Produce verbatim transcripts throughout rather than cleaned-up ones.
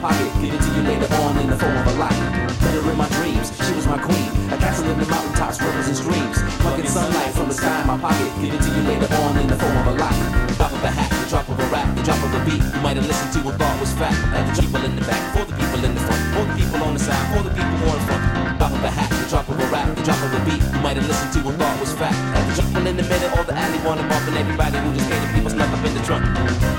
pocket, give it to you later on in the form of a locket. Met her in my dreams, she was my queen. A castle in the mountaintops, rivers and streams. Plucking sunlight from the sky in my pocket, give it to you later on in the form of a locket. Drop of a hat, the drop of a rap, the drop of a beat. You might have listened to and thought was fact. And the people in the back, for the people in the front, for the people on the side, for the people more in front. Drop of a hat, the drop of a rap, the drop of a beat. You might have listened to and thought was fact. And the people in the middle or the alley wanna bump, and everybody who just gave the people snuck up in the trunk.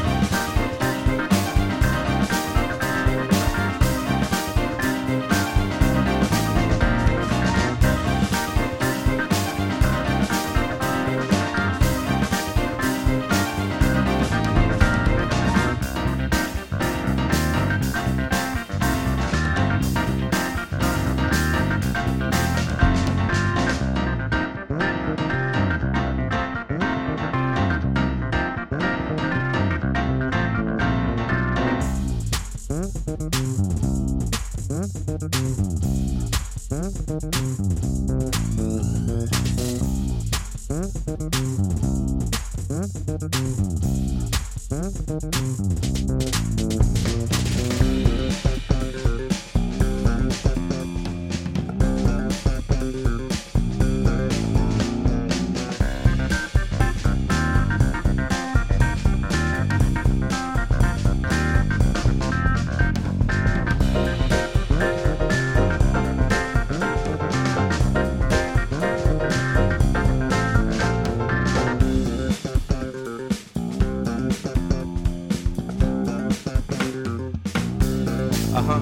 Uh-huh.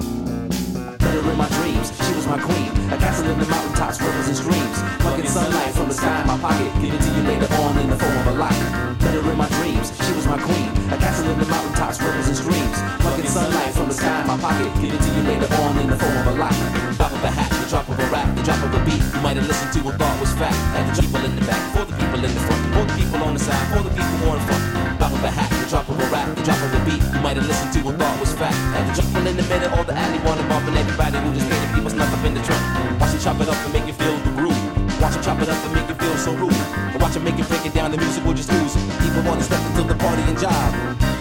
Met her in my dreams, she was my queen. A castle in the mountaintops, rivers and streams. Plucking sunlight from the sky in my pocket, give it to you later on in the form of a locket. Met her in my dreams, she was my queen. A castle in the mountaintops, rivers and streams. Plucking sunlight from the sky in my pocket, give it to you later on in the form of a locket. Drop of a hat, the drop of a rap, the drop of a beat. You might have listened to and thought was fact. And the people in the back, for the people in the front, for the people on the side, for the people more in front. Drop of a hat, the drop of a rap, the drop of a beat. You might have listened to and thought was fact. And the people in the middle or the alley wanna bump, and everybody who just gave the people snuck up in the trunk. Watch him chop it up and make you feel the groove. Watch him chop it up and make you feel so rude. And watch him make you break it down, the music will just lose. People wanna step into the party and jive.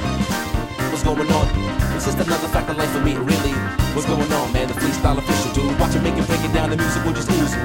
What's going on? It's just another fact of life for me, really. What's going on, man? The freestyle official, dude. Watch him make you break it down, the music will just lose.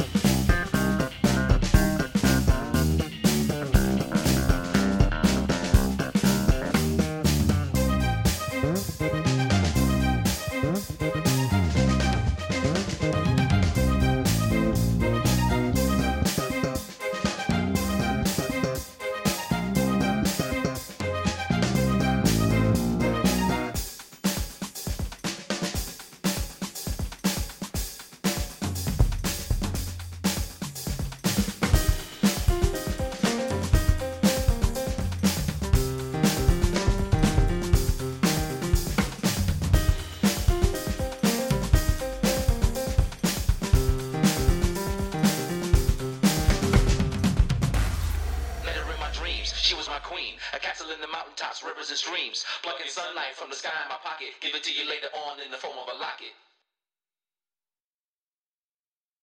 She was my queen, a castle in the mountaintops, rivers and streams. Plucking sunlight from the sky in my pocket, give it to you later on in the form of a locket.